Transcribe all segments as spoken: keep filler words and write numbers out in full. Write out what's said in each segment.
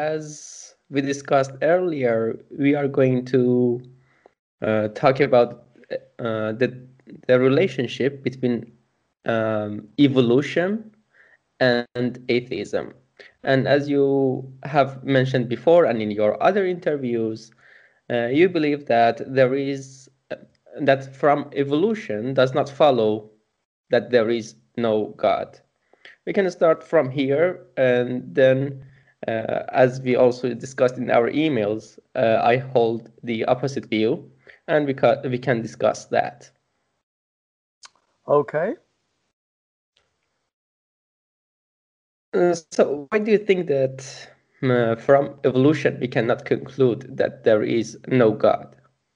as we discussed earlier, we are going to uh, talk about uh, the the relationship between um, evolution and atheism. And as you have mentioned before, and in your other interviews, uh, you believe that there is uh, that from evolution does not follow that there is no God. We can start from here, and then, uh, as we also discussed in our emails, uh, I hold the opposite view, and we, ca- we can discuss that. Okay. Uh, so, why do you think that uh, from evolution we cannot conclude that there is no God?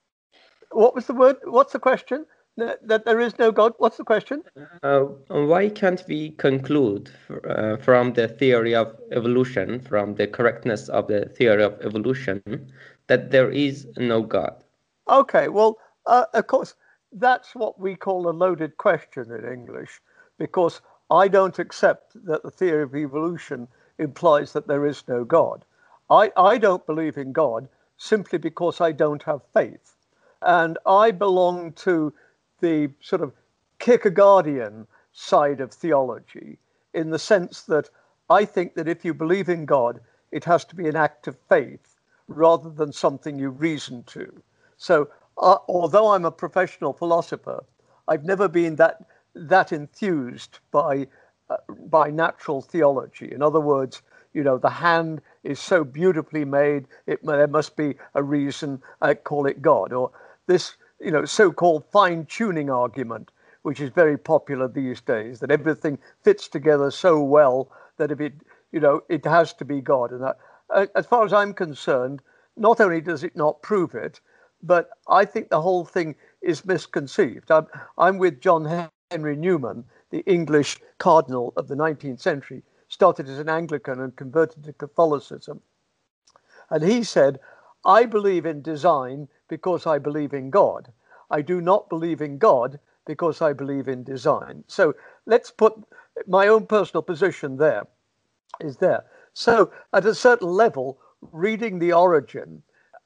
What was the word? What's the question? That, that there is no God? What's the question? Uh, why can't we conclude uh, from the theory of evolution, from the correctness of the theory of evolution, that there is no God? Okay, well, uh, of course, that's what we call a loaded question in English, because I don't accept that the theory of evolution implies that there is no God. I, I don't believe in God simply because I don't have faith. And I belong to the sort of Kierkegaardian side of theology, in the sense that I think that if you believe in God, it has to be an act of faith rather than something you reason to. So, uh, although I'm a professional philosopher, I've never been that that enthused by uh, by natural theology. In other words, you know, the hand is so beautifully made; it there must be a reason. I call it God, or this, you know, so-called fine-tuning argument, which is very popular these days, that everything fits together so well that if it, you know, it has to be God. And that, uh, as far as I'm concerned, not only does it not prove it, but I think the whole thing is misconceived. I'm, I'm with John Henry Newman, the English cardinal of the nineteenth century, started as an Anglican and converted to Catholicism. And he said, I believe in design because I believe in God. I do not believe in God because I believe in design. So let's put my own personal position there, is there. So at a certain level, reading The Origin,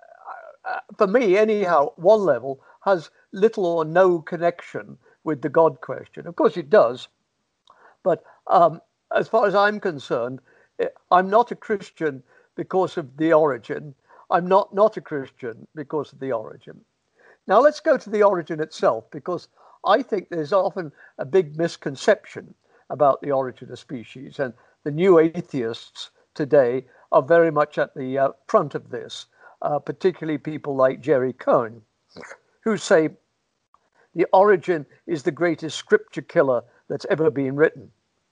uh, for me anyhow, one level has little or no connection with the God question. Of course it does, but um, as far as I'm concerned, I'm not a Christian because of The Origin. I'm not not a Christian because of The Origin. Now let's go to The Origin itself, because I think there's often a big misconception about the origin of species, and the new atheists today are very much at the uh, front of this, uh, particularly people like Jerry Cohen, who say the origin is the greatest scripture killer that's ever been written.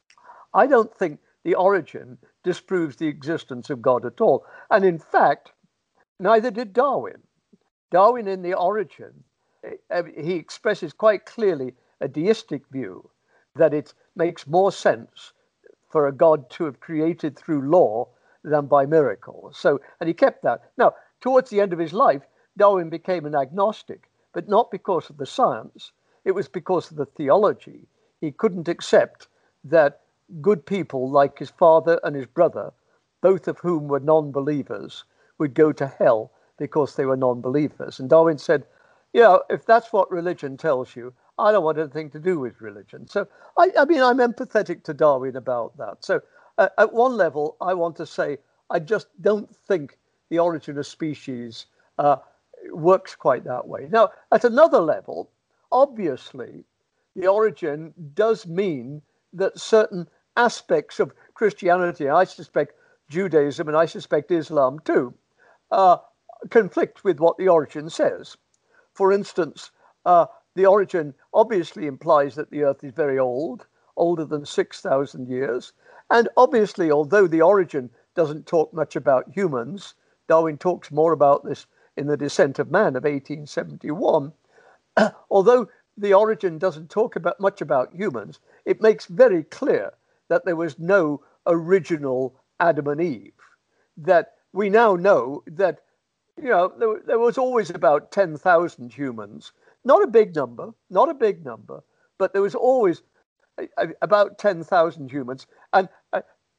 I don't think the origin disproves the existence of God at all. And in fact, neither did Darwin. Darwin, in The Origin, he expresses quite clearly a deistic view, that it makes more sense for a God to have created through law than by miracle. So, and he kept that. Now, towards the end of his life, Darwin became an agnostic, but not because of the science. It was because of the theology. He couldn't accept that good people like his father and his brother, both of whom were non-believers, would go to hell because they were non-believers. And Darwin said, yeah, if that's what religion tells you, I don't want anything to do with religion. So, I, I mean, I'm empathetic to Darwin about that. So, uh, at one level, I want to say, I just don't think the origin of species uh, works quite that way. Now, at another level, obviously, the origin does mean that certain aspects of Christianity, I suspect Judaism and I suspect Islam too, uh, conflict with what the origin says. For instance, uh, the origin obviously implies that the earth is very old, older than six thousand years. And obviously, although the origin doesn't talk much about humans, Darwin talks more about this in The Descent of Man of eighteen seventy-one. Although the origin doesn't talk about much about humans, it makes very clear that there was no original Adam and Eve. That we now know that, you know, there, there was always about ten thousand humans. Not a big number, not a big number, but there was always a, a, about ten thousand humans. And uh,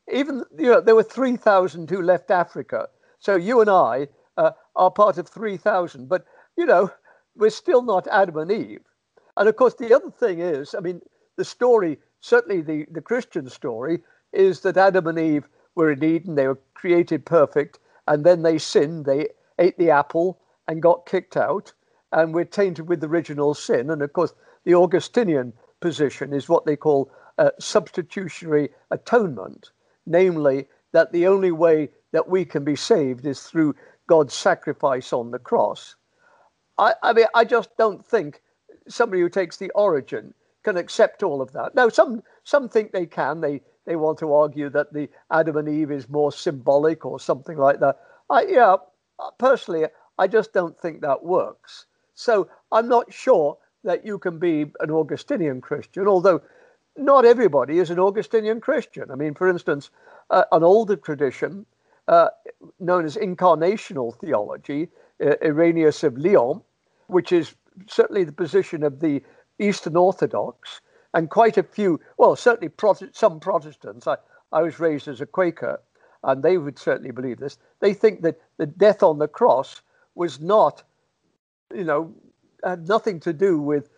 even, you know, there were three thousand who left Africa. So you and I uh, are part of three thousand. But, you know, we're still not Adam and Eve. And of course, the other thing is, I mean, the story, certainly the, the Christian story, is that Adam and Eve were in Eden. They were created perfect. And then they sinned. They ate the apple and got kicked out. And we're tainted with original sin. And of course, the Augustinian position is what they call uh, substitutionary atonement, namely that the only way that we can be saved is through God's sacrifice on the cross. I, I mean, I just don't think somebody who takes the origin can accept all of that. Now, some some think they can. They they want to argue that the Adam and Eve is more symbolic or something like that. I, yeah, personally, I just don't think that works. So I'm not sure that you can be an Augustinian Christian, although not everybody is an Augustinian Christian. I mean, for instance, uh, an older tradition uh, known as incarnational theology, uh, Irenaeus of Lyon, which is certainly the position of the Eastern Orthodox and quite a few, well, certainly Protest- some Protestants. I, I was raised as a Quaker, and they would certainly believe this. They think that the death on the cross was not, you know, had nothing to do with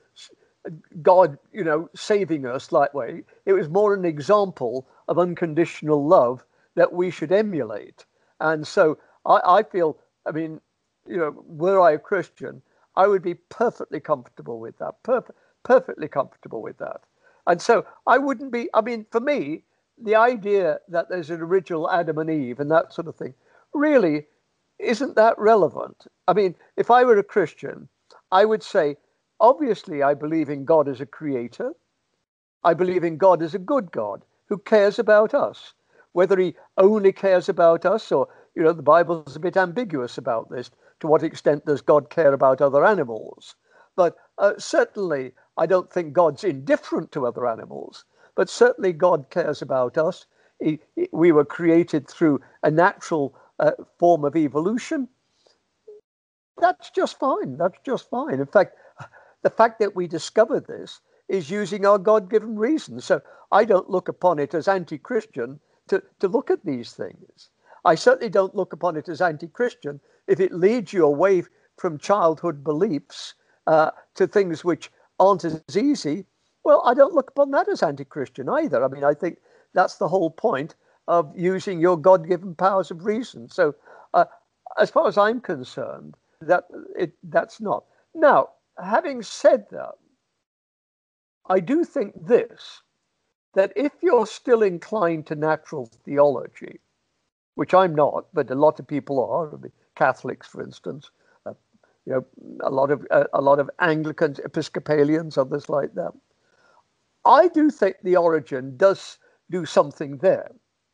God, you know, saving us that way. It was more an example of unconditional love that we should emulate. And so I, I feel, I mean, you know, were I a Christian, I would be perfectly comfortable with that, perf- perfectly comfortable with that. And so I wouldn't be, I mean, for me, the idea that there's an original Adam and Eve and that sort of thing really isn't that relevant. I mean, if I were a Christian, I would say, obviously, I believe in God as a creator. I believe in God as a good God who cares about us. Whether he only cares about us or, you know, the Bible's a bit ambiguous about this. To what extent does God care about other animals? But uh, certainly, I don't think God's indifferent to other animals. But certainly, God cares about us. He, he, we were created through a natural uh, form of evolution. That's just fine. That's just fine. In fact, the fact that we discovered this is using our God-given reason. So I don't look upon it as anti-Christian to, to look at these things. I certainly don't look upon it as anti-Christian if it leads you away from childhood beliefs uh, to things which aren't as easy. Well, I don't look upon that as anti-Christian either. I mean, I think that's the whole point of using your God-given powers of reason. So uh, as far as I'm concerned, that it that's not. Now, having said that, I do think this, that if you're still inclined to natural theology, which I'm not, but a lot of people are, I mean, Catholics, for instance, uh, you know, a lot of uh, a lot of Anglicans, Episcopalians, others like that. I do think the origin does do something there.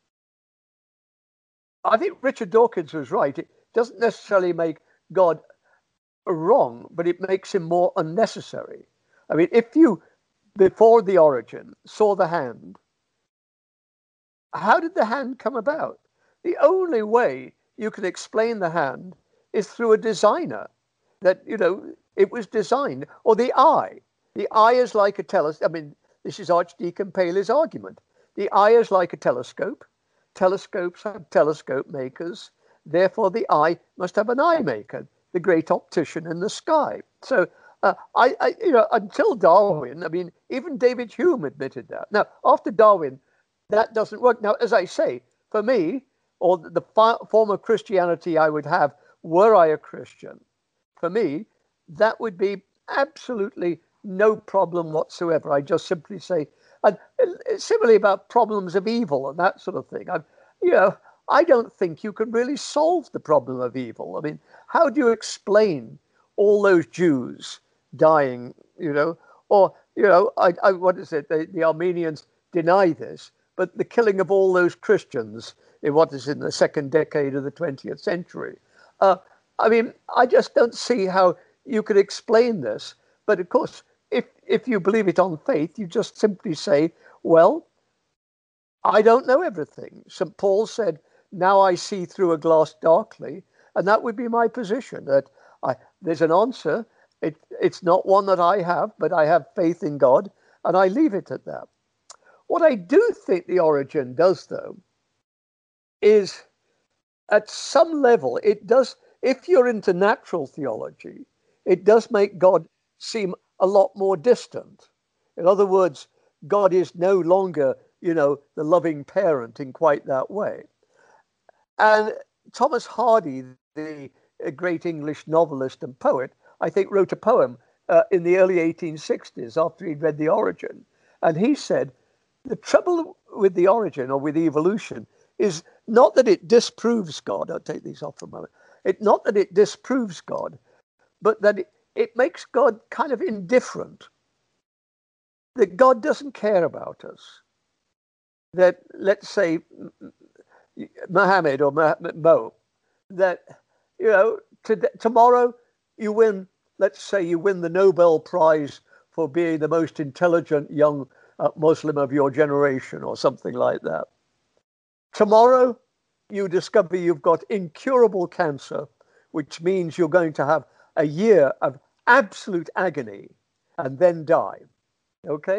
I think Richard Dawkins was right. It doesn't necessarily make God wrong, but it makes him more unnecessary. I mean, if you, before the origin, saw the hand, how did the hand come about? The only way you can explain the hand is through a designer, that, you know, it was designed. Or the eye. The eye is like a telescope. I mean, this is Archdeacon Paley's argument. The eye is like a telescope. Telescopes have telescope makers. Therefore, the eye must have an eye maker, the great optician in the sky. So, uh, I, I, you know, until Darwin, I mean, even David Hume admitted that. Now, after Darwin, that doesn't work. Now, as I say, for me, or the fi- form of Christianity I would have were I a Christian, for me, that would be absolutely no problem whatsoever. I just simply say, and similarly about problems of evil and that sort of thing. I'm, you know, I don't think you can really solve the problem of evil. I mean, how do you explain all those Jews dying, you know, or, you know, I, I, what is it? The, the Armenians deny this, but the killing of all those Christians in what is in the second decade of the twentieth century. Uh, I mean, I just don't see how you could explain this. But of course, if, if you believe it on faith, you just simply say, well, I don't know everything. Saint Paul said, now I see through a glass darkly. And that would be my position, that I, there's an answer. It, it's not one that I have, but I have faith in God, and I leave it at that. What I do think the origin does, though, is at some level, it does, if you're into natural theology, it does make God seem a lot more distant. In other words, God is no longer, you know, the loving parent in quite that way. And Thomas Hardy, the great English novelist and poet, I think wrote a poem uh, in the early eighteen sixties after he'd read The Origin. And he said, the trouble with The Origin or with evolution is not that it disproves God. I'll take these off for a moment. It, not that it disproves God, but that it, it makes God kind of indifferent. That God doesn't care about us. That, let's say, Mohammed or Mo, that, you know, to, tomorrow you win, let's say you win the Nobel Prize for being the most intelligent young uh, Muslim of your generation or something like that. Tomorrow you discover you've got incurable cancer, which means you're going to have a year of absolute agony and then die. Okay?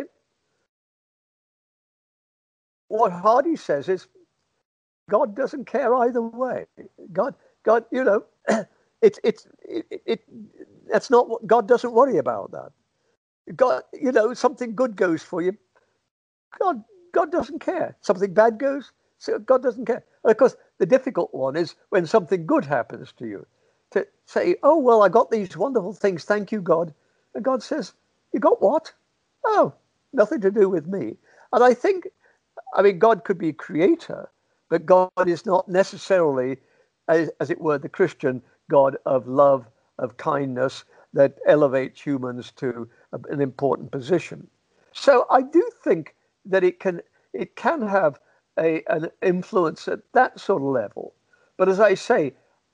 What Hardy says is, God doesn't care either way. God, God, you know, it's it's it, it, it that's not what God doesn't worry about that. God, you know, something good goes for you. God, God doesn't care. Something bad goes, so God doesn't care. And of course, the difficult one is when something good happens to you, to say, "Oh well, I got these wonderful things. Thank you, God." And God says, "You got what? Oh, nothing to do with me." And I think, I mean, God could be creator, but God is not necessarily, as, as it were, the Christian God of love, of kindness, that elevates humans to a, an important position. So I do think that it can it can have a, an influence at that sort of level. But as I say,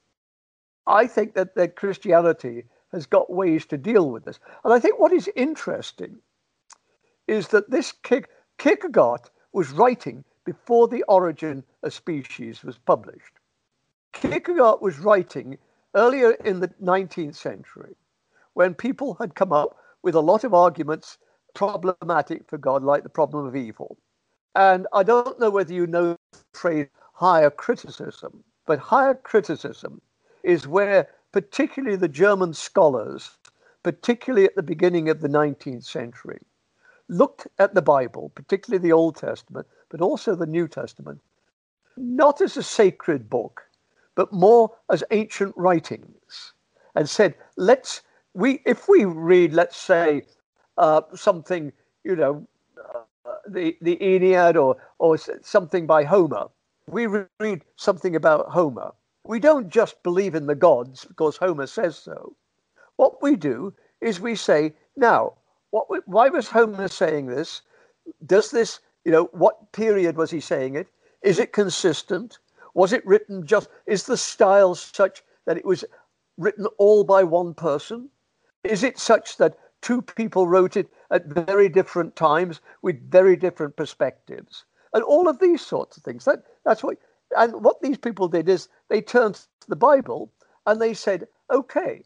I think that, that Christianity has got ways to deal with this. And I think what is interesting is that this Kierkegaard was writing before The Origin of Species was published. Kierkegaard was writing earlier in the nineteenth century when people had come up with a lot of arguments problematic for God, like the problem of evil. And I don't know whether you know the phrase higher criticism, but higher criticism is where particularly the German scholars, particularly at the beginning of the nineteenth century, looked at the Bible, particularly the Old Testament, but also the New Testament, not as a sacred book, but more as ancient writings, and said, let's, we, if we read, let's say, uh, something, you know, uh, the, the Aeneid or, or something by Homer, we read something about Homer. We don't just believe in the gods because Homer says so. What we do is we say, now, what, why was Homer saying this? Does this, you know, what period was he saying it? Is it consistent? Was it written just, is the style such that it was written all by one person? Is it such that two people wrote it at very different times with very different perspectives? And all of these sorts of things. That, that's what, and what these people did is they turned to the Bible and they said, okay,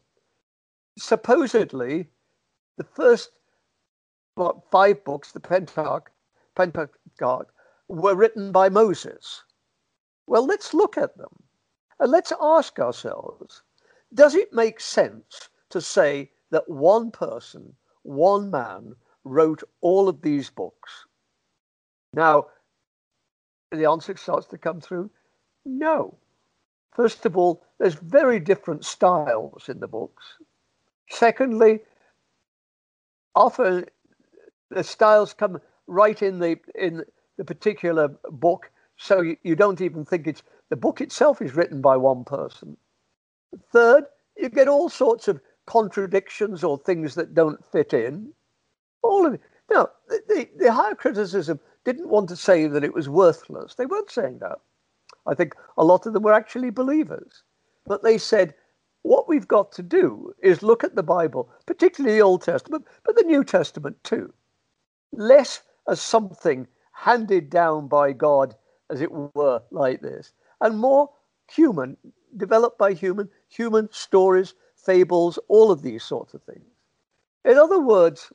supposedly the first what, five books, the Pentateuch, Pentateuch, were written by Moses. Well, let's look at them and let's ask ourselves, does it make sense to say that one person, one man, wrote all of these books? Now, the answer starts to come through, no. First of all, there's very different styles in the books. Secondly, often the styles come right in the in the particular book, so you, you don't even think it's the book itself is written by one person. Third, you get all sorts of contradictions or things that don't fit in. All of it. Now, the, the, the higher criticism didn't want to say that it was worthless. They weren't saying that. I think a lot of them were actually believers. But they said, what we've got to do is look at the Bible, particularly the Old Testament, but the New Testament too, less as something handed down by God, as it were, like this, and more human, developed by human, human stories, fables, all of these sorts of things. In other words,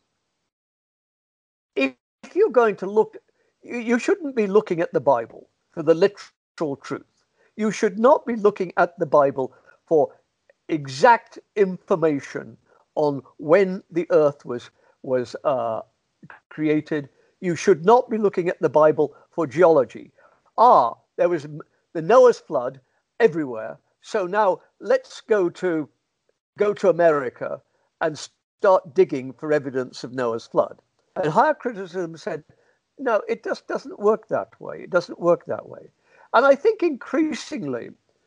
if you're going to look, you shouldn't be looking at the Bible for the literal truth. you should not be looking at the Bible for exact information on when the earth was, was uh, created. You should not be looking at the Bible for geology. Ah, there was the Noah's flood everywhere. So now let's go to go to America and start digging for evidence of Noah's flood. And higher criticism said, no, it just doesn't work that way. It doesn't work that way. And I think increasingly,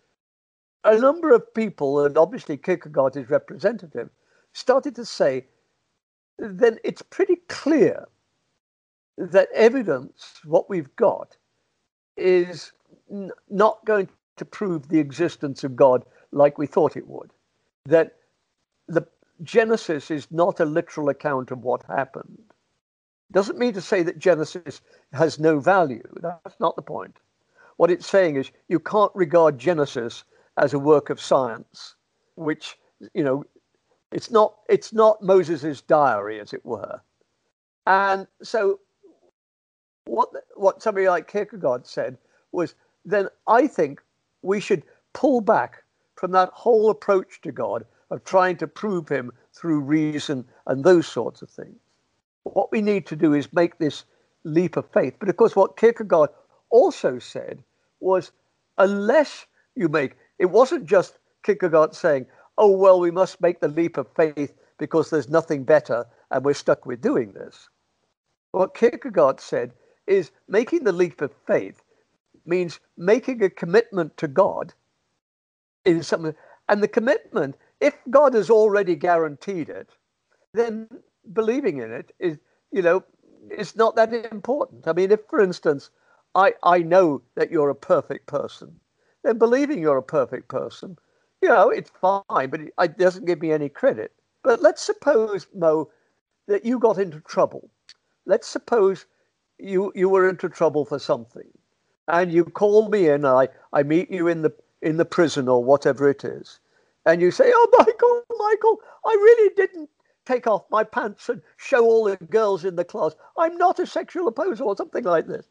a number of people, and obviously Kierkegaard is representative, started to say, then it's pretty clear that evidence, what we've got, is n- not going to prove the existence of God like we thought it would. That the Genesis is not a literal account of what happened. Doesn't mean to say that Genesis has no value. That's not the point. What it's saying is you can't regard Genesis as a work of science, which, you know, it's not, it's not Moses's diary, as it were. And so what, what somebody like Kierkegaard said was, then I think we should pull back from that whole approach to God of trying to prove him through reason and those sorts of things. What we need to do is make this leap of faith. But of course, what Kierkegaard also said was, unless you make, it wasn't just Kierkegaard saying, oh, well, we must make the leap of faith because there's nothing better and we're stuck with doing this. What Kierkegaard said is making the leap of faith means making a commitment to God in something. And the commitment, if God has already guaranteed it, then believing in it is, you know, it's not that important. I mean, if, for instance, I, I know that you're a perfect person, then believing you're a perfect person, you know, it's fine, but it, it doesn't give me any credit. But let's suppose, Mo, that you got into trouble. Let's suppose you you were into trouble for something, and you call me in. I I meet you in the in the prison or whatever it is, and you say, "Oh, Michael, Michael, I really didn't take off my pants and show all the girls in the class. I'm not a sexual opposer," or something like this.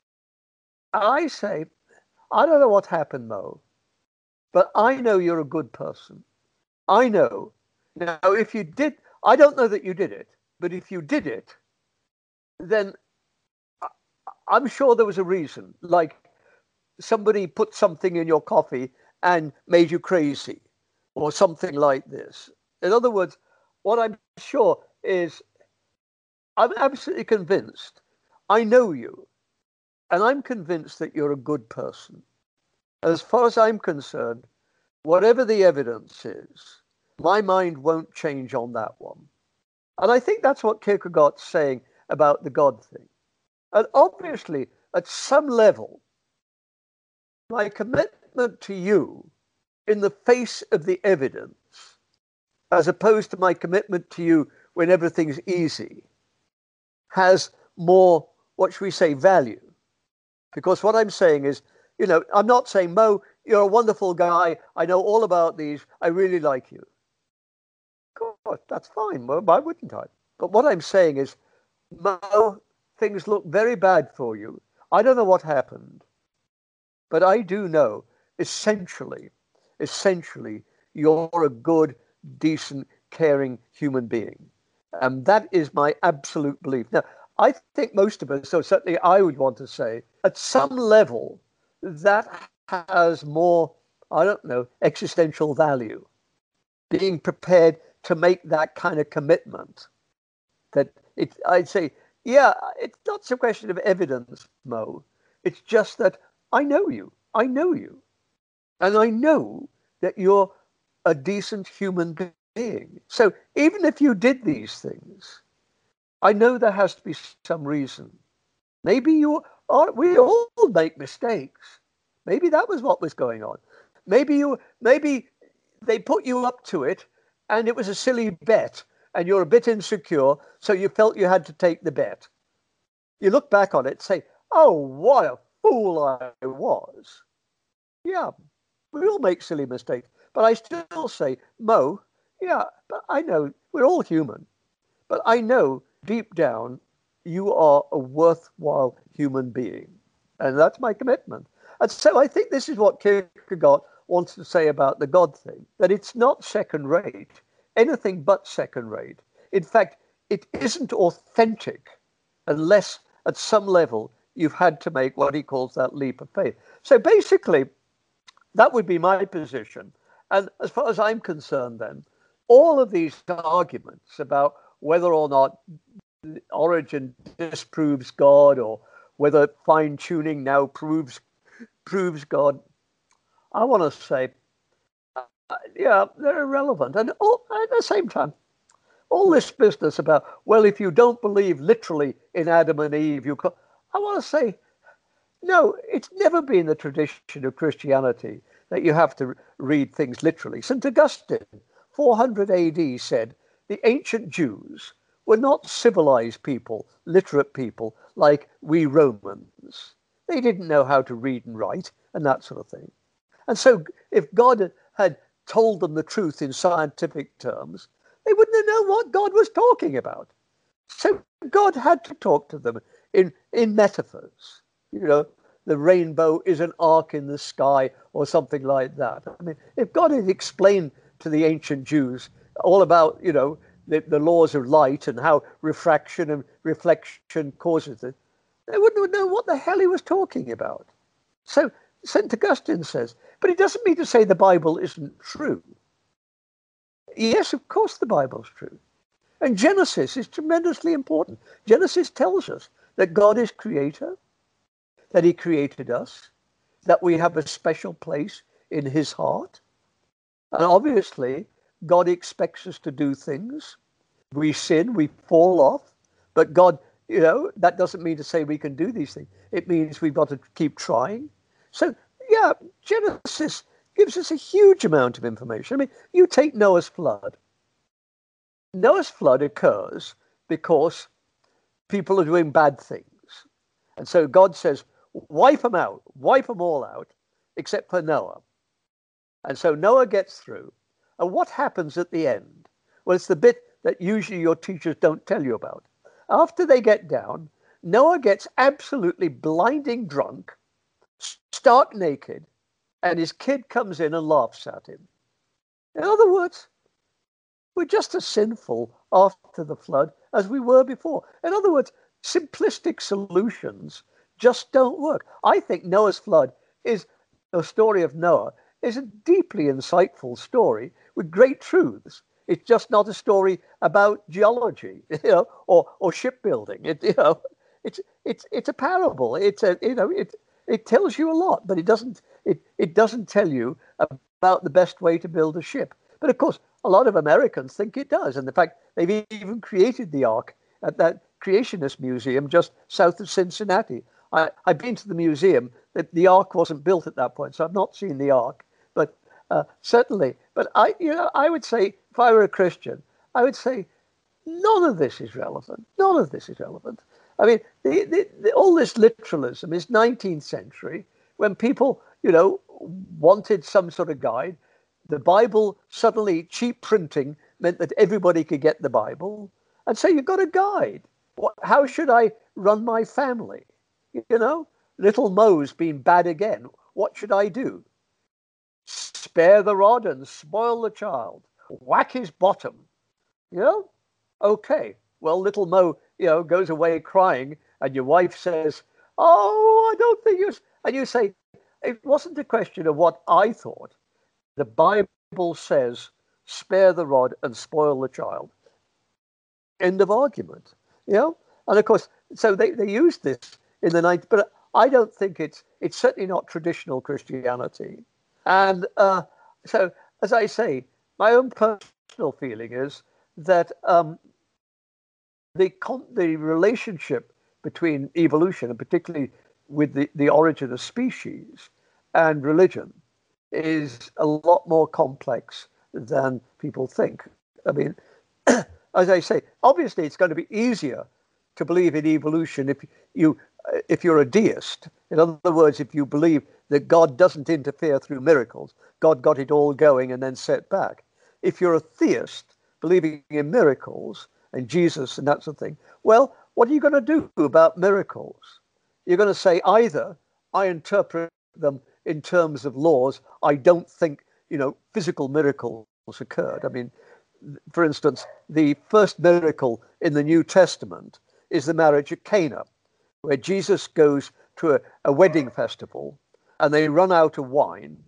I say, I don't know what happened, Mo, but I know you're a good person. I know. Now, if you did, I don't know that you did it, but if you did it, then I'm sure there was a reason, like somebody put something in your coffee and made you crazy or something like this. In other words, what I'm sure is I'm absolutely convinced. I know you, and I'm convinced that you're a good person. As far as I'm concerned, whatever the evidence is, my mind won't change on that one. And I think that's what Kierkegaard's saying about the God thing. And obviously, at some level, my commitment to you in the face of the evidence, as opposed to my commitment to you when everything's easy, has more, what should we say, value. Because what I'm saying is, you know, I'm not saying, Mo, you're a wonderful guy. I know all about these. I really like you. God, that's fine. Well, why wouldn't I? But what I'm saying is, Mo, things look very bad for you. I don't know what happened, but I do know, essentially, essentially, you're a good, decent, caring human being. And that is my absolute belief. Now, I think most of us, so certainly I would want to say, at some level, that has more, I don't know, existential value. Being prepared to make that kind of commitment. That it, I'd say, yeah, it's not a question of evidence, Mo. It's just that I know you. I know you. And I know that you're a decent human being. So even if you did these things, I know there has to be some reason. Maybe you are, we all make mistakes. Maybe that was what was going on. Maybe you, maybe they put you up to it and it was a silly bet and you're a bit insecure, so you felt you had to take the bet. You look back on it and say, oh, what a fool I was. Yeah, we all make silly mistakes. But I still say, Mo, yeah, but I know we're all human. But I know deep down you are a worthwhile human being. And that's my commitment. And so I think this is what Kierkegaard wants to say about the God thing, that it's not second rate, anything but second rate. In fact, it isn't authentic unless at some level you've had to make what he calls that leap of faith. So basically, that would be my position. And as far as I'm concerned, then, all of these arguments about whether or not Origen disproves God or whether fine-tuning now proves proves God, I want to say, uh, yeah, they're irrelevant. And all, at the same time, all this business about, well, if you don't believe literally in Adam and Eve, you can, I want to say, no, it's never been the tradition of Christianity that you have to read things literally. Saint Augustine, four hundred A D, said the ancient Jews were not civilized people, literate people like we Romans. They didn't know how to read and write and that sort of thing. And so if God had told them the truth in scientific terms, they wouldn't have known what God was talking about. So God had to talk to them in, in metaphors. You know, the rainbow is an arc in the sky or something like that. I mean, if God had explained to the ancient Jews all about, you know, the, the laws of light and how refraction and reflection causes it, they wouldn't have known what the hell he was talking about. So Saint Augustine says, but it doesn't mean to say the Bible isn't true. Yes, of course the Bible's true. And Genesis is tremendously important. Genesis tells us that God is creator, that he created us, that we have a special place in his heart. And obviously, God expects us to do things. We sin, we fall off, but God, you know, that doesn't mean to say we can do these things. It means we've got to keep trying. So, yeah, Genesis gives us a huge amount of information. I mean, you take Noah's flood. Noah's flood occurs because people are doing bad things. And so God says, wipe them out, wipe them all out, except for Noah. And so Noah gets through. And what happens at the end? Well, it's the bit that usually your teachers don't tell you about. After they get down, Noah gets absolutely blinding drunk, stark naked, and his kid comes in and laughs at him. In other words, we're just as sinful after the flood as we were before. In other words, simplistic solutions just don't work. I think Noah's flood is the story of Noah is a deeply insightful story with great truths. It's just not a story about geology, you know, or or shipbuilding. It you know, it's it's it's a parable. It's a you know it it tells you a lot, but it doesn't it it doesn't tell you about the best way to build a ship. But of course, a lot of Americans think it does, and in fact, they've even created the Ark at that Creationist Museum just south of Cincinnati. I, I've been to the museum. The, the Ark wasn't built at that point, so I've not seen the Ark. But uh, certainly, but I, you know, I would say if I were a Christian, I would say none of this is relevant. None of this is relevant. I mean, the, the, the, all this literalism is nineteenth century when people, you know, wanted some sort of guide. The Bible, suddenly cheap printing meant that everybody could get the Bible. And so you've got a guide. What, how should I run my family? You know, little Mo's been bad again. What should I do? Spare the rod and spoil the child. Whack his bottom. You know? Okay. Well, little Mo, you know, goes away crying, and your wife says, oh, I don't think you... And you say, it wasn't a question of what I thought. The Bible says, spare the rod and spoil the child. End of argument. You know? And of course, so they, they used this in the ninth, but I don't think it's it's certainly not traditional Christianity. And uh, so, as I say, my own personal feeling is that um, the the relationship between evolution, and particularly with the, the origin of species and religion, is a lot more complex than people think. I mean, as I say, obviously it's going to be easier to believe in evolution if you if you're a deist. In other words, if you believe that God doesn't interfere through miracles, God got it all going and then set back. If you're a theist, believing in miracles and Jesus and that sort of thing, well, what are you going to do about miracles? You're going to say either I interpret them in terms of laws, I don't think, you know, physical miracles occurred. I mean, for instance, the first miracle in the New Testament is the marriage at Cana, where Jesus goes to a, a wedding festival and they run out of wine,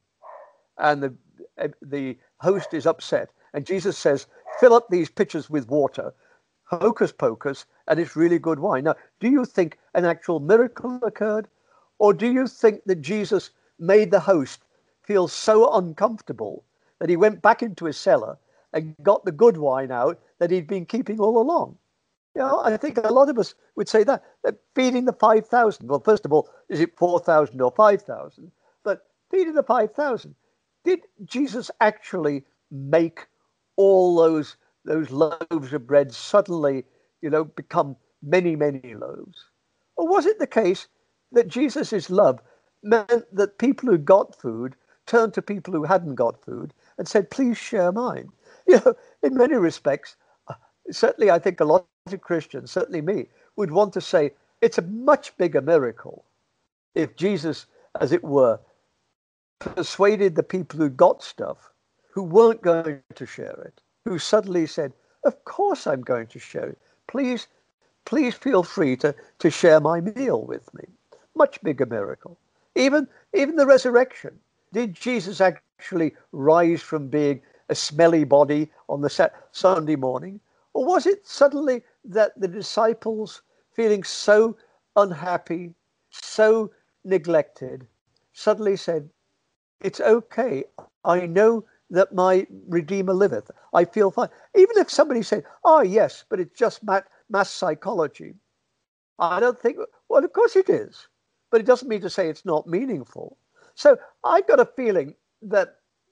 and the the host is upset, and Jesus says, fill up these pitchers with water, hocus pocus, and it's really good wine. Now, do you think an actual miracle occurred, or do you think that Jesus made the host feel so uncomfortable that he went back into his cellar and got the good wine out that he'd been keeping all along? You know, I think a lot of us would say that, that feeding the five thousand, well, first of all, is it four thousand or five thousand? But feeding the five thousand, did Jesus actually make all those those loaves of bread suddenly, you know, become many, many loaves? Or was it the case that Jesus' love meant that people who got food turned to people who hadn't got food and said, please share mine? You know, in many respects, certainly I think a lot of Christians, certainly me, would want to say it's a much bigger miracle if Jesus, as it were, persuaded the people who got stuff, who weren't going to share it, who suddenly said, of course I'm going to share it. Please, please feel free to, to share my meal with me. Much bigger miracle. Even, even the resurrection. Did Jesus actually rise from being a smelly body on the Sunday morning? Or was it suddenly that the disciples, feeling so unhappy, so neglected, suddenly said, it's okay. I know that my Redeemer liveth. I feel fine. Even if somebody said, oh, yes, but it's just mass psychology. I don't think, well, of course it is. But it doesn't mean to say it's not meaningful. So I've got a feeling that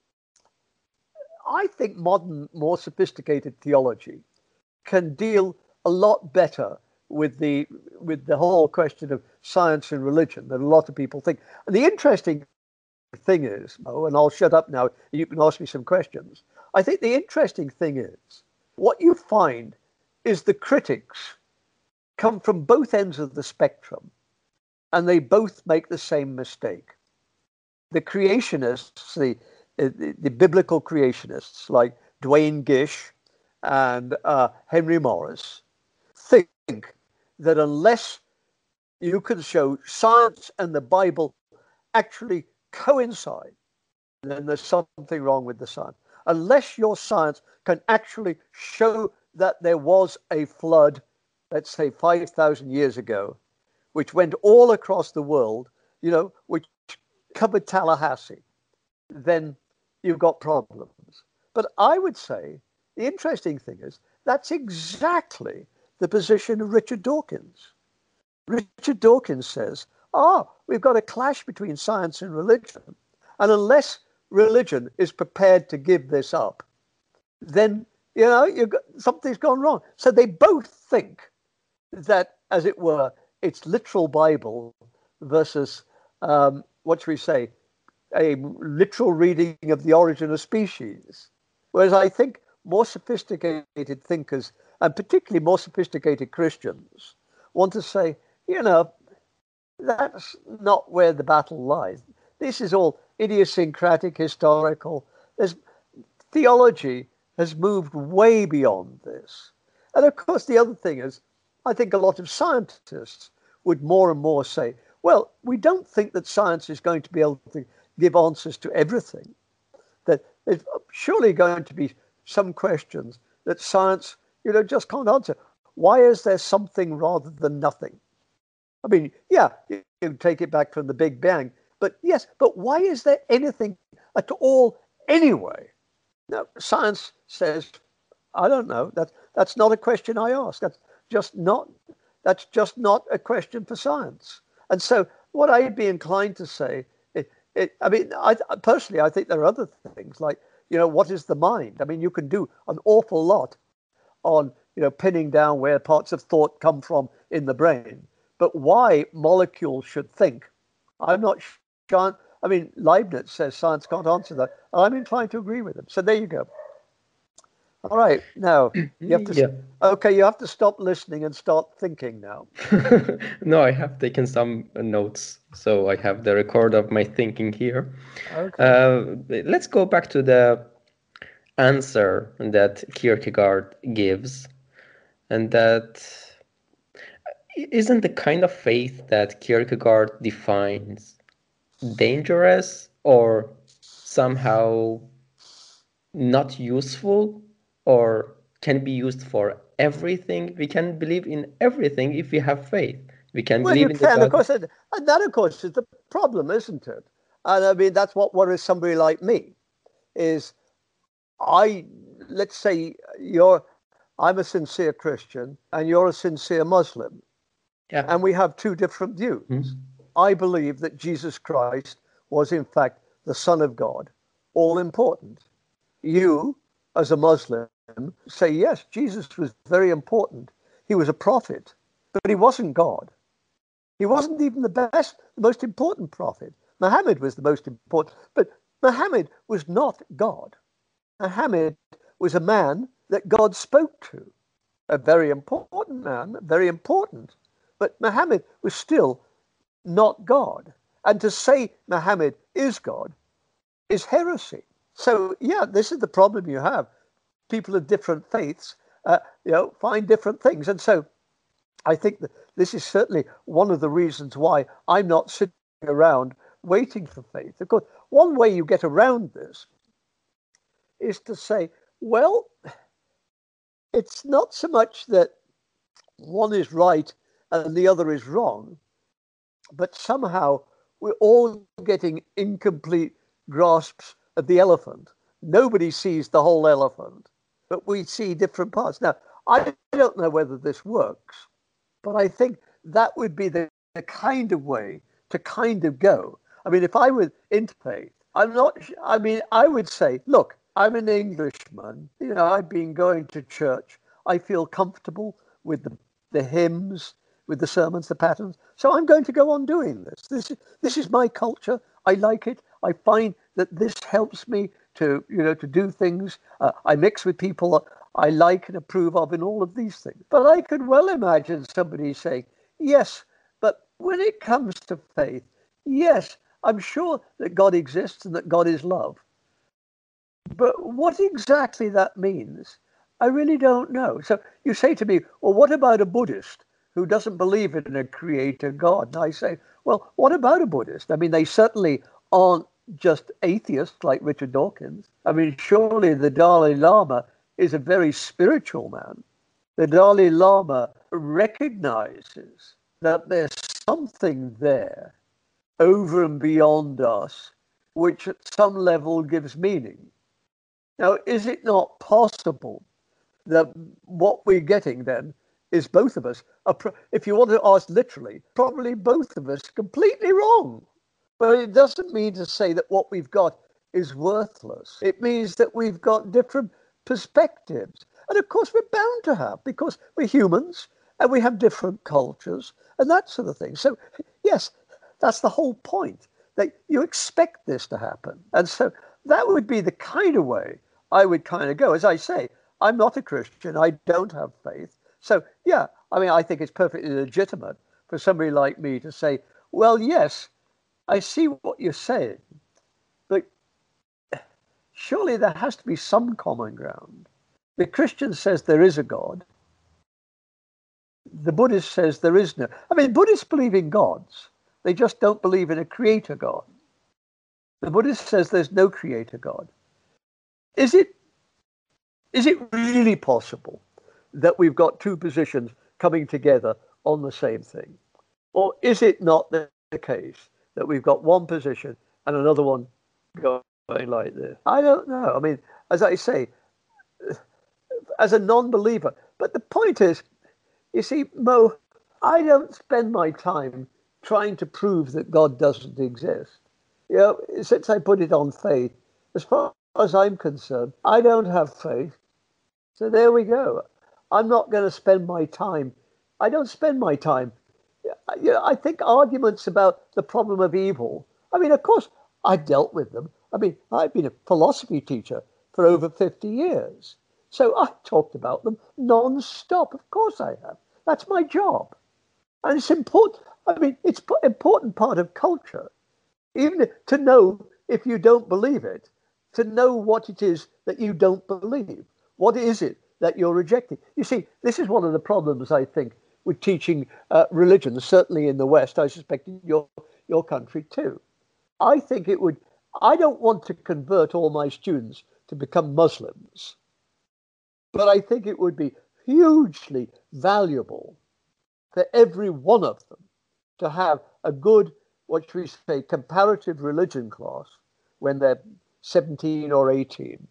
I think modern, more sophisticated theology can deal a lot better with the with the whole question of science and religion than a lot of people think. And the interesting thing is, oh, and I'll shut up now, you can ask me some questions. I think the interesting thing is, what you find is the critics come from both ends of the spectrum, and they both make the same mistake. The creationists, the, the, the biblical creationists like Duane Gish and uh, Henry Morris, think that unless you can show science and the Bible actually coincide, then there's something wrong with the science. Unless your science can actually show that there was a flood, let's say five thousand years ago, which went all across the world, you know, which covered Tallahassee, then you've got problems. But I would say the interesting thing is that's exactly the position of Richard Dawkins. Richard Dawkins says, oh, we've got a clash between science and religion. And unless religion is prepared to give this up, then, you know, you've got, something's gone wrong. So they both think that, as it were, it's literal Bible versus, um, what should we say, a literal reading of the origin of species. Whereas I think more sophisticated thinkers, and particularly more sophisticated Christians, want to say, you know, that's not where the battle lies. This is all idiosyncratic, historical. There's, theology has moved way beyond this. And of course, the other thing is, I think a lot of scientists would more and more say, well, we don't think that science is going to be able to give answers to everything. That there's surely going to be some questions that science, you know, just can't answer. Why is there something rather than nothing? I mean, yeah, you can take it back from the Big Bang, but yes, but why is there anything at all anyway? Now, science says, I don't know. That that's not a question I ask. That's just not. That's just not a question for science. And so, what I'd be inclined to say, it, it, I mean, I personally, I think there are other things like, you know, what is the mind? I mean, you can do an awful lot on, you know, pinning down where parts of thought come from in the brain. But why molecules should think, I'm not sure. I mean, Leibniz says science can't answer that. I'm inclined to agree with him. So there you go. All right, now you have to. Yeah. Okay, you have to stop listening and start thinking now. No, I have taken some notes, so I have the record of my thinking here. Okay. Uh, let's go back to the answer that Kierkegaard gives, and that isn't the kind of faith that Kierkegaard defines dangerous or somehow not useful, or can be used for everything. We can believe in everything if we have faith. We can Well, believe you in the can, of God. course, and that, of course, is the problem, isn't it? And I mean, that's what worries somebody like me. Is I let's say you're I'm a sincere Christian and you're a sincere Muslim, Yeah. and we have two different views. Mm-hmm. I believe that Jesus Christ was in fact the Son of God, all important. You, as a Muslim, say yes, Jesus was very important. He was a prophet, but he wasn't God. He wasn't even the best, the most important prophet. Muhammad was the most important, but Muhammad was not God. Muhammad was a man that God spoke to, a very important man, very important. But Muhammad was still not God. And to say Muhammad is God is heresy. So, yeah, this is the problem you have. People of different faiths, uh, you know, find different things. And so I think that this is certainly one of the reasons why I'm not sitting around waiting for faith. Of course, one way you get around this is to say, well, it's not so much that one is right and the other is wrong, but somehow we're all getting incomplete grasps of the elephant. Nobody sees the whole elephant, but we see different parts. Now, I don't know whether this works, but I think that would be the, the kind of way to kind of go. I mean, if I were into faith, I'm not, I mean, I would say, look, I'm an Englishman. You know, I've been going to church. I feel comfortable with the, the hymns, with the sermons, the patterns. So I'm going to go on doing this. This is, this is my culture. I like it. I find that this helps me to, you know, to do things. Uh, I mix with people I like and approve of in all of these things. But I could well imagine somebody saying, yes, but when it comes to faith, yes, I'm sure that God exists and that God is love. But what exactly that means, I really don't know. So you say to me, well, what about a Buddhist who doesn't believe in a creator God? And I say, well, what about a Buddhist? I mean, they certainly aren't just atheists like Richard Dawkins. I mean, surely the Dalai Lama is a very spiritual man. The Dalai Lama recognizes that there's something there over and beyond us, which at some level gives meaning. Now, is it not possible that what we're getting then is both of us, if you want to ask literally, probably both of us completely wrong? But it doesn't mean to say that what we've got is worthless. It means that we've got different perspectives. And of course, we're bound to have, because we're humans and we have different cultures and that sort of thing. So, yes, that's the whole point, that you expect this to happen. And so that would be the kind of way I would kind of go. As I say, I'm not a Christian. I don't have faith. So, yeah, I mean, I think it's perfectly legitimate for somebody like me to say, well, yes, I see what you're saying, but surely there has to be some common ground. The Christian says there is a God. The Buddhist says there is no. I mean, Buddhists believe in gods. They just don't believe in a creator God. The Buddhist says there's no creator God. Is it, is it really possible that we've got two positions coming together on the same thing? Or is it not the case that we've got one position and another one going like this? I don't know. I mean, as I say, as a non-believer, but the point is, you see, Mo, I don't spend my time trying to prove that God doesn't exist. You know, since I put it on faith, as far as I'm concerned, I don't have faith. So there we go. I'm not going to spend my time. I don't spend my time. You know, I think arguments about the problem of evil, I mean, of course, I've dealt with them. I mean, I've been a philosophy teacher for over fifty years. So I've talked about them non-stop. Of course I have. That's my job. And it's important. I mean, it's an important part of culture, even to know if you don't believe it, to know what it is that you don't believe. What is it that you're rejecting? You see, this is one of the problems, I think, with teaching uh, religion, certainly in the West, I suspect in your, your country too. I think it would, I don't want to convert all my students to become Muslims, but I think it would be hugely valuable for every one of them to have a good, what should we say, comparative religion class when they're seventeen or eighteen,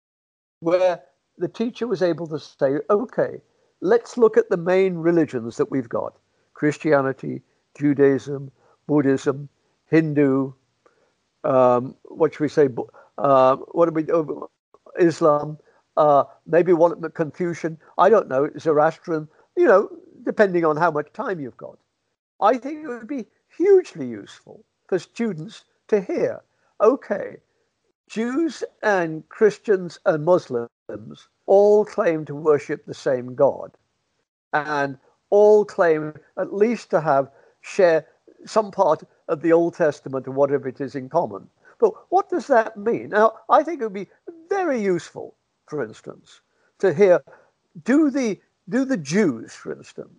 where the teacher was able to say, okay, let's look at the main religions that we've got: Christianity, Judaism, Buddhism, Hindu, um, what should we say, uh, what do we do? Islam, uh, maybe one Confucian, I don't know, Zoroastrian, you know, depending on how much time you've got. I think it would be hugely useful for students to hear, okay, Jews and Christians and Muslims all claim to worship the same God, and all claim at least to have, share some part of the Old Testament or whatever it is in common. But what does that mean? Now, I think it would be very useful, for instance, to hear, do the, do the Jews, for instance,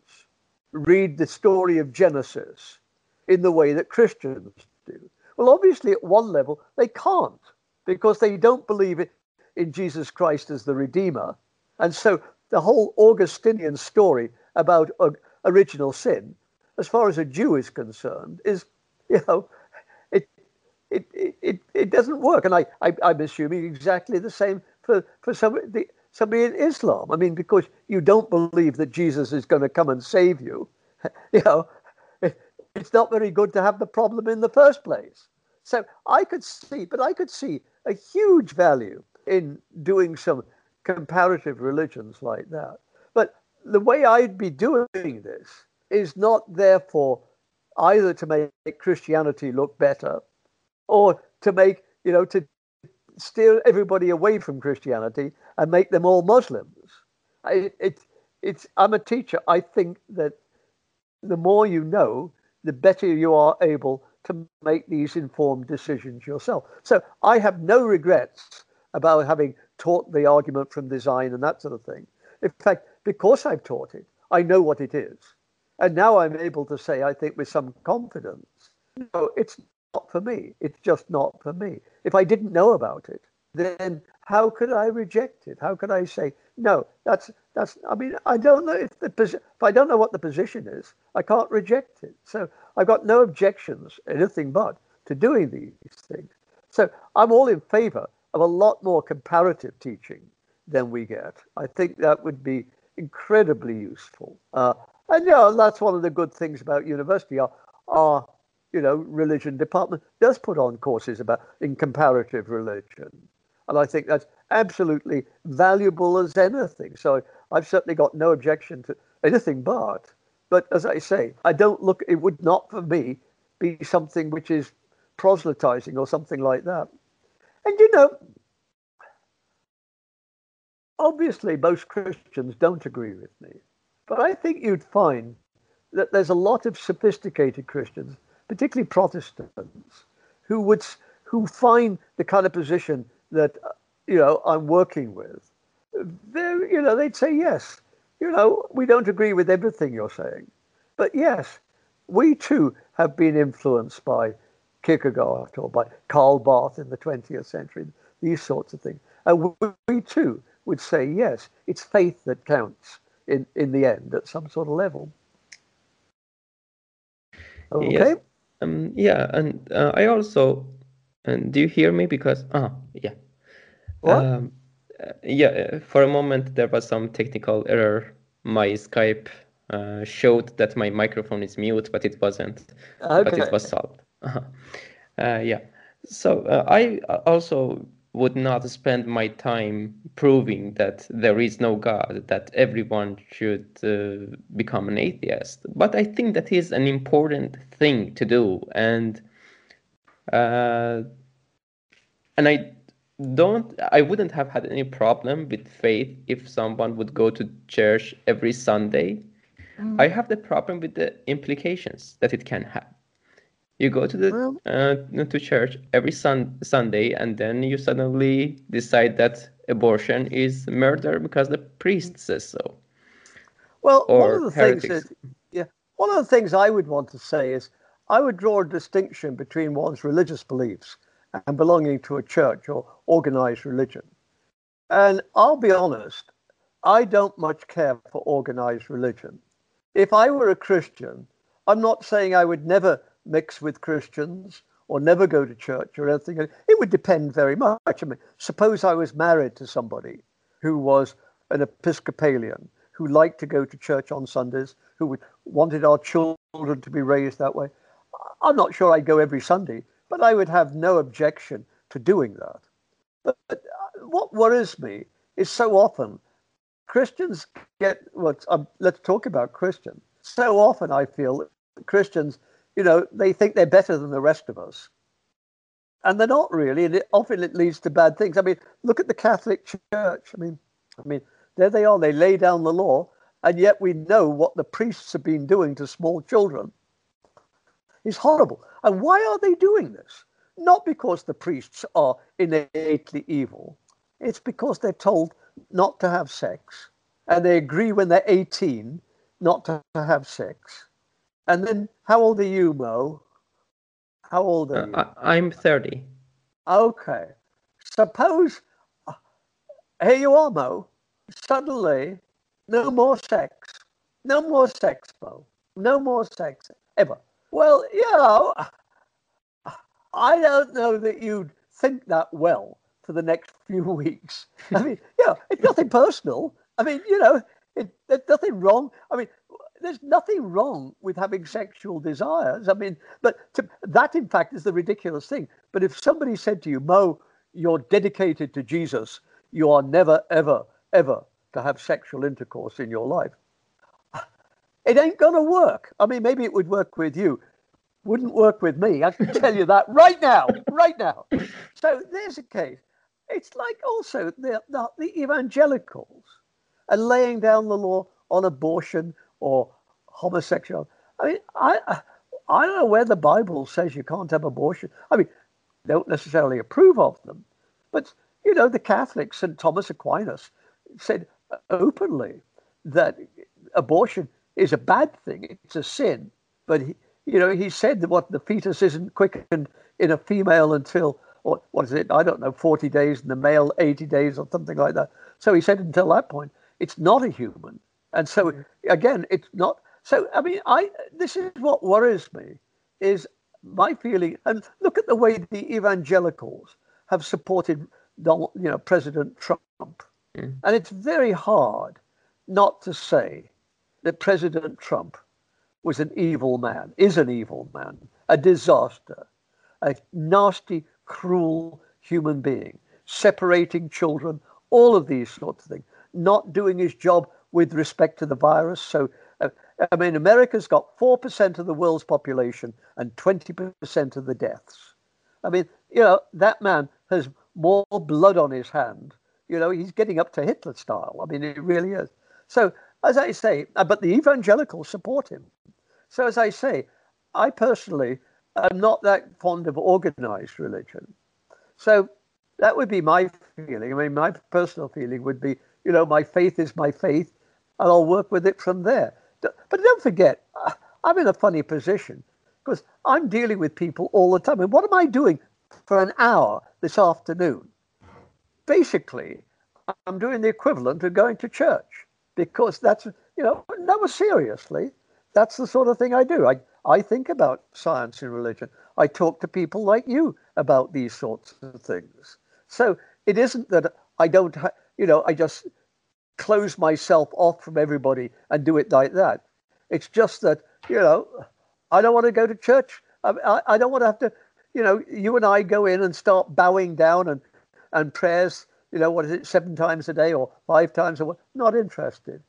read the story of Genesis in the way that Christians do? Well, obviously, at one level, they can't, because they don't believe it in Jesus Christ as the Redeemer. And so the whole Augustinian story about uh, original sin, as far as a Jew is concerned, is, you know, it it it, it doesn't work. And I, I, I'm assuming exactly the same for, for somebody, somebody in Islam. I mean, because you don't believe that Jesus is going to come and save you, you know, it, it's not very good to have the problem in the first place. So I could see, but I could see a huge value in doing some comparative religions like that. But the way I'd be doing this is not therefore either to make Christianity look better or to make, you know, to steer everybody away from Christianity and make them all Muslims. I, it, it's, I'm a teacher. I think that the more you know, the better you are able to make these informed decisions yourself. So I have no regrets about having taught the argument from design and that sort of thing. In fact, because I've taught it, I know what it is. And now I'm able to say, I think with some confidence, no, it's not for me. It's just not for me. If I didn't know about it, then how could I reject it? How could I say, no, that's, that's, I mean, I don't know if the, if I don't know what the position is, I can't reject it. So I've got no objections, anything but, to doing these things. So I'm all in favor of a lot more comparative teaching than we get. I think that would be incredibly useful. Uh, and, you know, that's one of the good things about university. Our, our, you know, religion department does put on courses about in comparative religion. And I think that's absolutely valuable as anything. So I've certainly got no objection to anything but. But as I say, I don't look, it would not for me be something which is proselytizing or something like that. And, you know, obviously most Christians don't agree with me. But I think you'd find that there's a lot of sophisticated Christians, particularly Protestants, who would who find the kind of position that, you know, I'm working with. They're, you know, they'd say, yes, you know, we don't agree with everything you're saying. But yes, we too have been influenced by Kierkegaard or by Karl Barth in the twentieth century, these sorts of things. And we, we too would say, yes, it's faith that counts in, in the end at some sort of level. Okay? Yes. Um, yeah, and uh, I also, and do you hear me? Because, ah, yeah. What? Um, uh, yeah, for a moment there was some technical error. My Skype uh, showed that my microphone is mute, but it wasn't. Okay. But it was solved. uh, yeah. So uh, I also would not spend my time proving that there is no God, that everyone should uh, become an atheist. But I think that is an important thing to do, and uh, and I don't I wouldn't have had any problem with faith if someone would go to church every Sunday. Mm. I have the problem with the implications that it can have. You go to the well, uh, to church every sun, Sunday, and then you suddenly decide that abortion is murder because the priest says so. Well, or one of the heretics. things that, yeah, one of the things I would want to say is I would draw a distinction between one's religious beliefs and belonging to a church or organized religion. And I'll be honest, I don't much care for organized religion. If I were a Christian, I'm not saying I would never mix with Christians or never go to church or anything. It would depend very much. I mean, suppose I was married to somebody who was an Episcopalian, who liked to go to church on Sundays, who would, wanted our children to be raised that way. I'm not sure I'd go every Sunday, but I would have no objection to doing that. But, but what worries me is so often Christians get, well, um, let's talk about Christians. So often I feel Christians, you know, they think they're better than the rest of us. And they're not really, and it, often it leads to bad things. I mean, look at the Catholic Church. I mean, I mean, there they are, they lay down the law, and yet we know what the priests have been doing to small children. It's horrible. And why are they doing this? Not because the priests are innately evil. It's because they're told not to have sex, and they agree when they're eighteen not to have sex. And then, how old are you, Mo? How old are you? Uh, I'm thirty. Okay. Suppose, uh, here you are, Mo. Suddenly, no more sex. No more sex, Mo. No more sex, ever. Well, you know, I don't know that you'd think that well for the next few weeks. I mean, you know, it's nothing personal. I mean, you know, it, there's nothing wrong. I mean, there's nothing wrong with having sexual desires. I mean, but to, that, in fact, is the ridiculous thing. But if somebody said to you, Mo, you're dedicated to Jesus, you are never, ever, ever to have sexual intercourse in your life, it ain't going to work. I mean, maybe it would work with you. Wouldn't work with me. I can tell you that right now, right now. So there's a case. It's like also the, the, the evangelicals are laying down the law on abortion or homosexuality. I mean, I I don't know where the Bible says you can't have abortion. I mean, don't necessarily approve of them. But, you know, the Catholics, Saint Thomas Aquinas, said openly that abortion is a bad thing. It's a sin. But, he, you know, he said that what the fetus isn't quickened in a female until, or what is it? I don't know, forty days, and the male eighty days or something like that. So he said until that point, it's not a human. And so, again, it's not. So, I mean, I this is what worries me, is my feeling. And look at the way the evangelicals have supported, Donald, you know, President Trump. Mm. And it's very hard not to say that President Trump was an evil man, is an evil man, a disaster, a nasty, cruel human being, separating children, all of these sorts of things, not doing his job with respect to the virus. So, uh, I mean, America's got four percent of the world's population and twenty percent of the deaths. I mean, you know, that man has more blood on his hand. You know, he's getting up to Hitler style. I mean, it really is. So, as I say, uh, but the evangelicals support him. So, as I say, I personally am not that fond of organized religion. So that would be my feeling. I mean, my personal feeling would be, you know, my faith is my faith, and I'll work with it from there. But don't forget, I'm in a funny position because I'm dealing with people all the time. And what am I doing for an hour this afternoon? Basically, I'm doing the equivalent of going to church, because that's, you know, no, seriously, that's the sort of thing I do. I, I think about science and religion. I talk to people like you about these sorts of things. So it isn't that I don't, ha- you know, I just close myself off from everybody and do it like that. It's just that, you know, I don't want to go to church. I, I, I don't want to have to, you know, you and I go in and start bowing down and, and prayers, you know, what is it, seven times a day or five times a week? Not interested.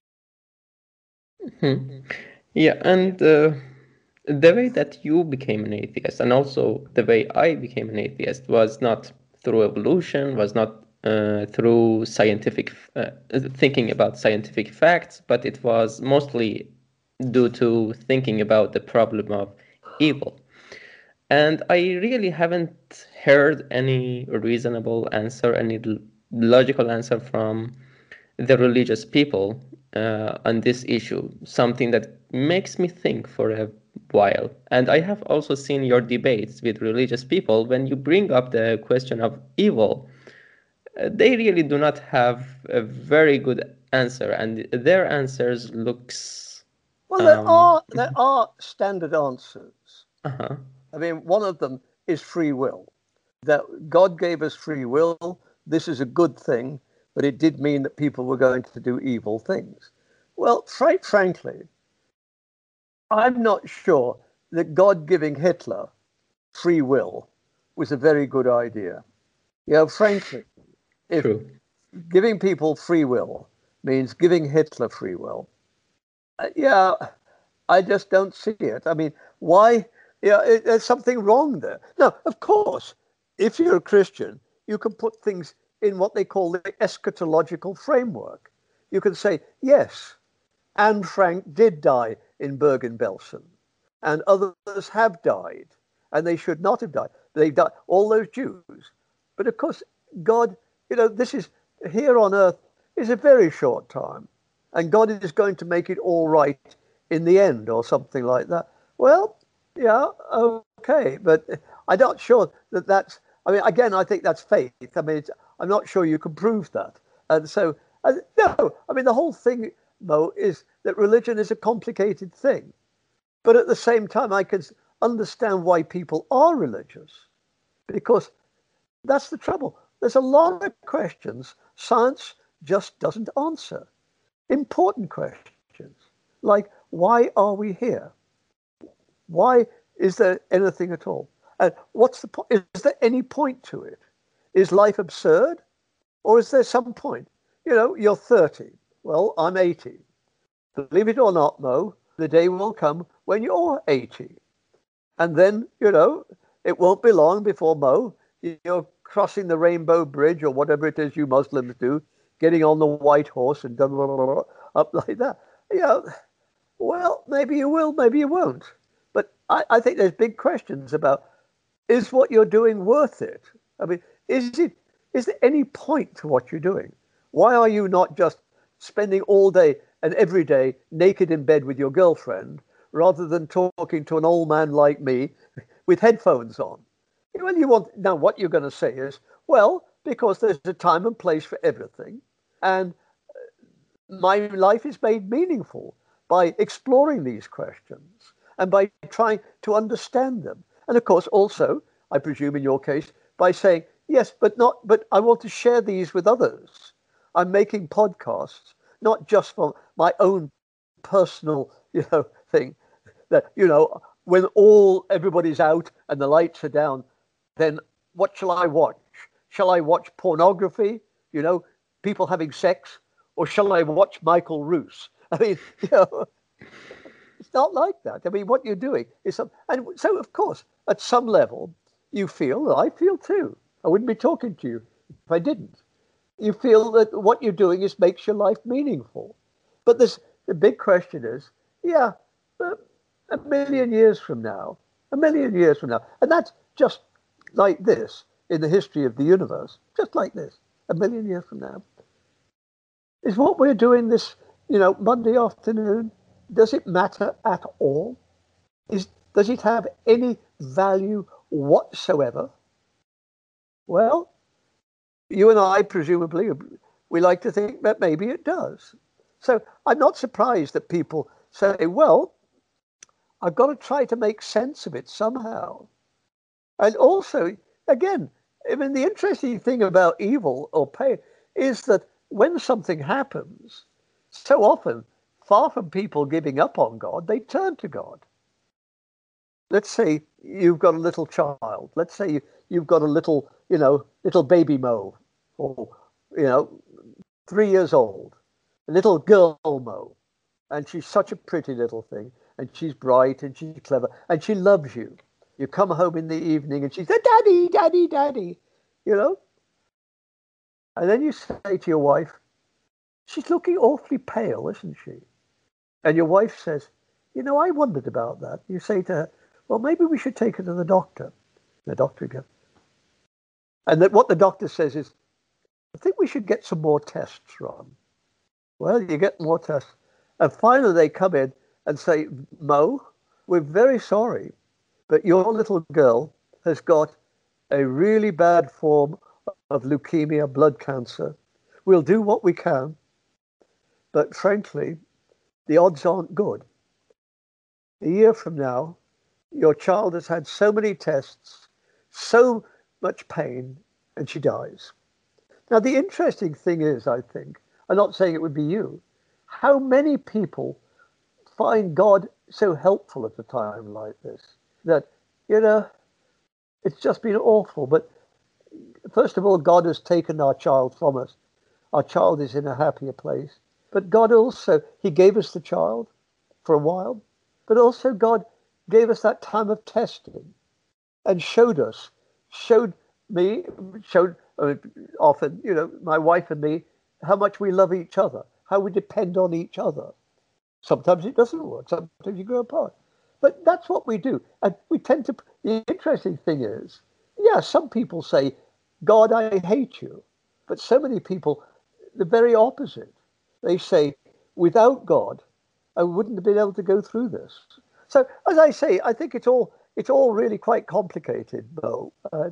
Mm-hmm. Yeah, and uh, the way that you became an atheist and also the way I became an atheist was not through evolution, was not uh, through scientific uh, thinking about scientific facts, but it was mostly due to thinking about the problem of evil. And I really haven't heard any reasonable answer, any logical answer from the religious people uh, on this issue, something that makes me think for a while. And I have also seen your debates with religious people. When you bring up the question of evil, uh, they really do not have a very good answer, and their answers looks Well, there um, are there are standard answers. uh-huh. I mean, one of them is free will. That God gave us free will. This is a good thing, but it did mean that people were going to do evil things. Well, quite frankly, I'm not sure that God giving Hitler free will was a very good idea. You know, frankly, if True. giving people free will means giving Hitler free will, uh, yeah, I just don't see it. I mean, why? Yeah, it, there's something wrong there. Now, of course, if you're a Christian, you can put things in what they call the eschatological framework. You can say, yes, Anne Frank did die in Bergen-Belsen, and others have died, and they should not have died. They died, all those Jews. But of course, God, you know, this is here on earth is a very short time, and God is going to make it all right in the end, or something like that. Well, yeah, okay, but I'm not sure that that's. I mean, again, I think that's faith. I mean, it's, I'm not sure you can prove that, and so uh, no. I mean, the whole thing, Mo, is that religion is a complicated thing, but at the same time, I can understand why people are religious, because that's the trouble. There's a lot of questions science just doesn't answer. Important questions like, why are we here? Why is there anything at all? And what's the point? Is there any point to it? Is life absurd? Or is there some point? You know, you're thirty. Well, I'm eighty. Believe it or not, Mo, the day will come when you're eighty. And then, you know, it won't be long before, Mo, you're crossing the Rainbow Bridge or whatever it is you Muslims do, getting on the white horse and up like that. You know, well, maybe you will, maybe you won't. But I, I think there's big questions about, is what you're doing worth it? I mean, is it is there any point to what you're doing? Why are you not just spending all day and every day naked in bed with your girlfriend rather than talking to an old man like me with headphones on? Well, you want now what you're going to say is, well, because there's a time and place for everything, and my life is made meaningful by exploring these questions and by trying to understand them. And of course, also, I presume in your case, by saying, yes, but not, but I want to share these with others. I'm making podcasts, not just for my own personal, you know, thing that, you know, when all everybody's out and the lights are down, then what shall I watch? Shall I watch pornography? You know, people having sex? Or shall I watch Michael Roos? I mean, you know, it's not like that. I mean, what you're doing is some, and so of course, at some level, you feel, I feel too. I wouldn't be talking to you if I didn't. You feel that what you're doing is makes your life meaningful. But this, the big question is, yeah, uh, a million years from now, a million years from now, and that's just like this in the history of the universe, just like this, a million years from now. Is what we're doing this, you know, Monday afternoon, does it matter at all? Is, does it have any value whatsoever? Well, you and I, presumably, we like to think that maybe it does. So I'm not surprised that people say, well, I've got to try to make sense of it somehow. And also, again, I mean, the interesting thing about evil or pain is that when something happens, so often, far from people giving up on God, they turn to God. Let's say you've got a little child. Let's say you, you've got a little, you know, little baby Mo, or, you know, three years old, a little girl Mo. And she's such a pretty little thing. And she's bright and she's clever and she loves you. You come home in the evening and she says, Daddy, Daddy, Daddy. you know? And then you say to your wife, she's looking awfully pale, isn't she? And your wife says, you know, I wondered about that. You say to her, well, maybe we should take her to the doctor. The doctor goes, and that what the doctor says is, I think we should get some more tests run. Well, you get more tests. And finally they come in and say, Mo, we're very sorry, but your little girl has got a really bad form of leukemia, blood cancer. We'll do what we can, but frankly, the odds aren't good. A year from now, your child has had so many tests, so much pain, and she dies. Now, the interesting thing is, I think, I'm not saying it would be you, how many people find God so helpful at a time like this that, you know, it's just been awful. But first of all, God has taken our child from us. Our child is in a happier place. But God also, he gave us the child for a while, but also God gave us that time of testing and showed us, showed me, showed uh, often, you know, my wife and me, how much we love each other, how we depend on each other. Sometimes it doesn't work. Sometimes you go apart. But that's what we do. And we tend to, the interesting thing is, yeah, some people say, God, I hate you. But so many people, the very opposite. They say, without God, I wouldn't have been able to go through this. So, as I say, I think it's all it's all really quite complicated, Bo. Uh,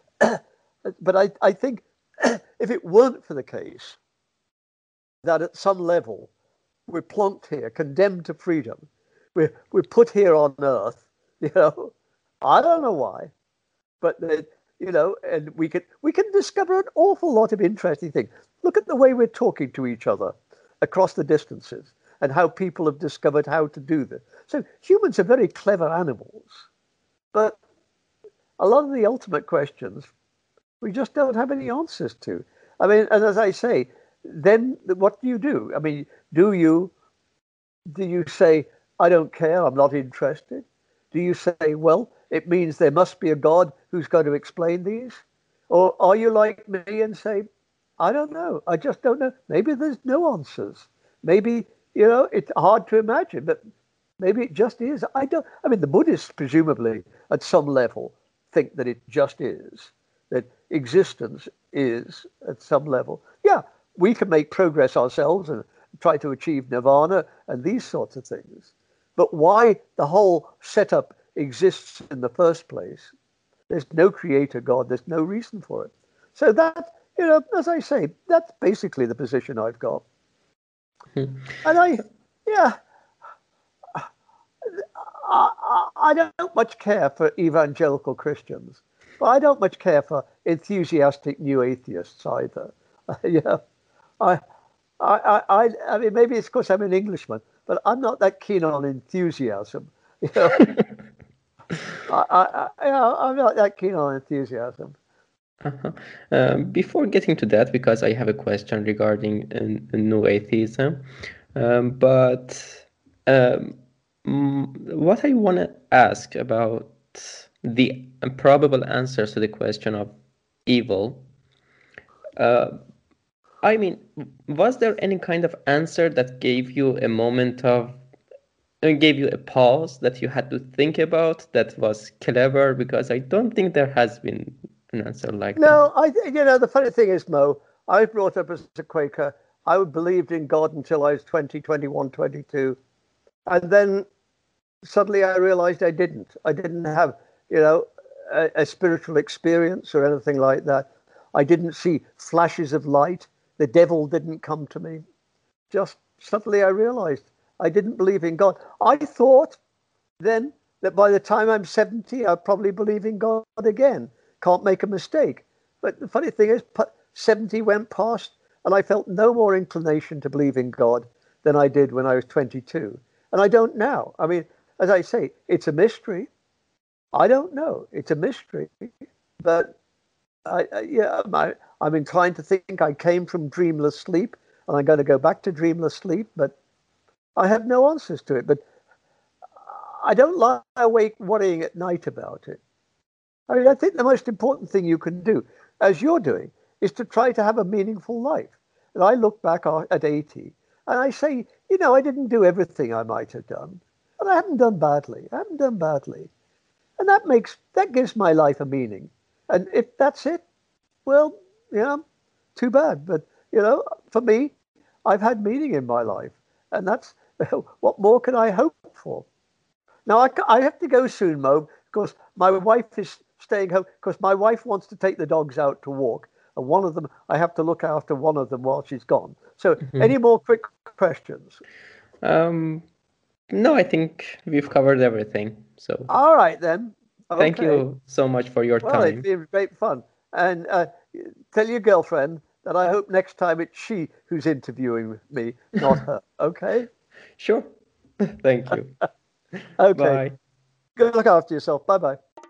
but I, I think if it weren't for the case that at some level we're plonked here, condemned to freedom, we're we're put here on earth, you know, I don't know why, but the, you know, and we can we can discover an awful lot of interesting things. Look at the way we're talking to each other across the distances, and how people have discovered how to do this. So humans are very clever animals, but a lot of the ultimate questions we just don't have any answers to. I mean, and as I say, then what do you do? I mean, do you do you say, I don't care, I'm not interested? Do you say, well, it means there must be a God who's going to explain these? Or are you like me and say, I don't know, I just don't know. Maybe there's no answers. Maybe, you know, it's hard to imagine, but maybe it just is. I don't, I mean, the Buddhists presumably at some level think that it just is, that existence is at some level. Yeah, we can make progress ourselves and try to achieve nirvana and these sorts of things. But why the whole setup exists in the first place, there's no creator God, there's no reason for it. So that, you know, as I say, that's basically the position I've got. Hmm. And I, yeah, I, I don't much care for evangelical Christians, but I don't much care for enthusiastic new atheists either. Yeah, I, I, I, I mean, maybe it's because I'm an Englishman, but I'm not that keen on enthusiasm. You know, I, I, I, I'm not that keen on enthusiasm. Uh-huh. Um, before getting to that, because I have a question regarding uh, new atheism, um, but um, what I want to ask about the probable answers to the question of evil. Uh, I mean, was there any kind of answer that gave you a moment of, gave you a pause that you had to think about that was clever? Because I don't think there has been an answer like that. No, I, you know, the funny thing is, Mo, I was brought up as a Quaker. I believed in God until I was twenty, twenty-one, twenty-two. And then suddenly I realized I didn't. I didn't have, you know, a, a spiritual experience or anything like that. I didn't see flashes of light. The devil didn't come to me. Just suddenly I realized I didn't believe in God. I thought then that by the time I'm seventy, I'll probably believe in God again. Can't make a mistake. But the funny thing is, seventy went past and I felt no more inclination to believe in God than I did when I was twenty-two. And I don't now. I mean, as I say, it's a mystery. I don't know. It's a mystery. But I, I, yeah, I, I'm inclined to think I came from dreamless sleep and I'm going to go back to dreamless sleep. But I have no answers to it. But I don't lie awake worrying at night about it. I mean, I think the most important thing you can do, as you're doing, is to try to have a meaningful life. And I look back at eighty and I say, you know, I didn't do everything I might have done, but I haven't done badly. I haven't done badly. And that makes, that gives my life a meaning. And if that's it, well, you know, too bad. But, you know, for me, I've had meaning in my life. And that's, what more can I hope for? Now, I, I have to go soon, Mo, because my wife is staying home, because my wife wants to take the dogs out to walk. And one of them, I have to look after one of them while she's gone. So mm-hmm. Any more quick questions? Um, no, I think we've covered everything. So all right, then. Okay. Thank you so much for your well, time. It's been great fun. And uh, tell your girlfriend that I hope next time it's she who's interviewing me, not her. Okay? Sure. Thank you. Okay. Bye. Go look after yourself. Bye-bye.